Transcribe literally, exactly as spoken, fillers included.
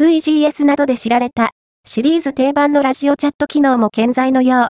ブイジーエス などで知られた、シリーズ定番のラジオチャット機能も健在のよう。